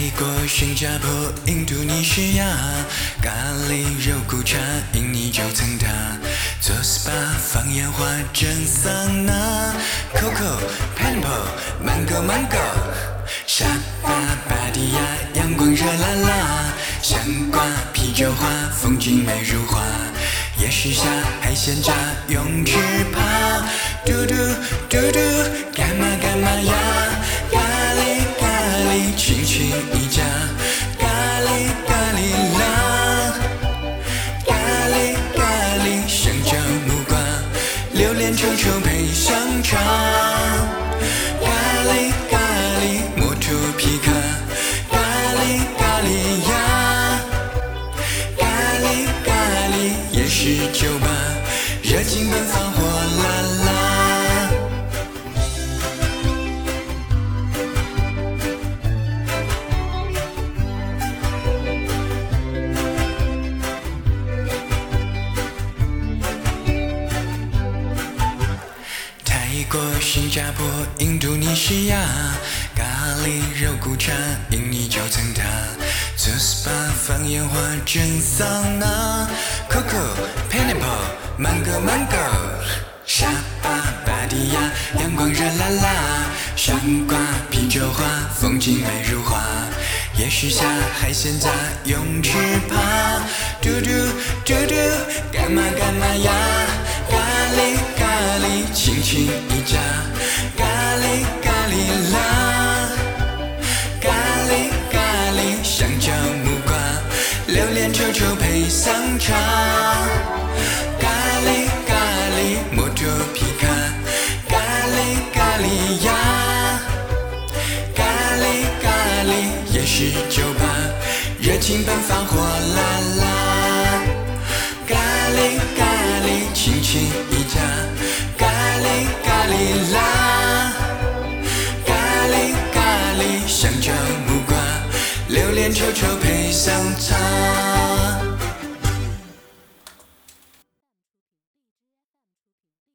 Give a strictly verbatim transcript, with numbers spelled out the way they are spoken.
国、新加坡、印度尼西亚，咖喱肉骨茶，印尼九层塔，做 S P A 放烟花蒸桑拿 ，Coco、Pineapple、Mango Mango， 沙巴、芭提雅，阳光热辣辣，香瓜、啤酒花，风景美如画，夜市下海鲜炸，泳池趴，嘟嘟嘟嘟，干嘛干嘛呀？咖喱咖喱，亲亲一家，咖喱咖喱啦，咖喱咖喱，香蕉木瓜，榴莲臭臭配香肠，咖喱咖喱，摩托皮卡，咖喱咖喱呀，咖喱咖喱，夜市酒吧，热情奔放火辣辣。泰国、新加坡、印度尼西亚，咖喱肉骨茶，印尼九层塔，做 S P A 放烟花蒸桑拿 ，Coco、Pineapple、Mango Mango， 沙巴、芭提雅，阳光热辣辣，香瓜、啤酒花，风景美如画，夜市下海鲜炸，泳池趴，嘟嘟嘟嘟，干嘛干嘛呀？咖喱咖喱，亲亲一家，咖喱咖喱啦，咖喱咖喱，香蕉木瓜，榴莲臭臭配香肠，咖喱咖喱，摩托皮卡，咖喱咖喱呀，咖喱咖喱，夜市酒吧，热情奔放火辣辣，咖喱咖喱，亲亲一家，咖喱咖喱啦，咖喱咖喱，香蕉木瓜，榴莲臭臭配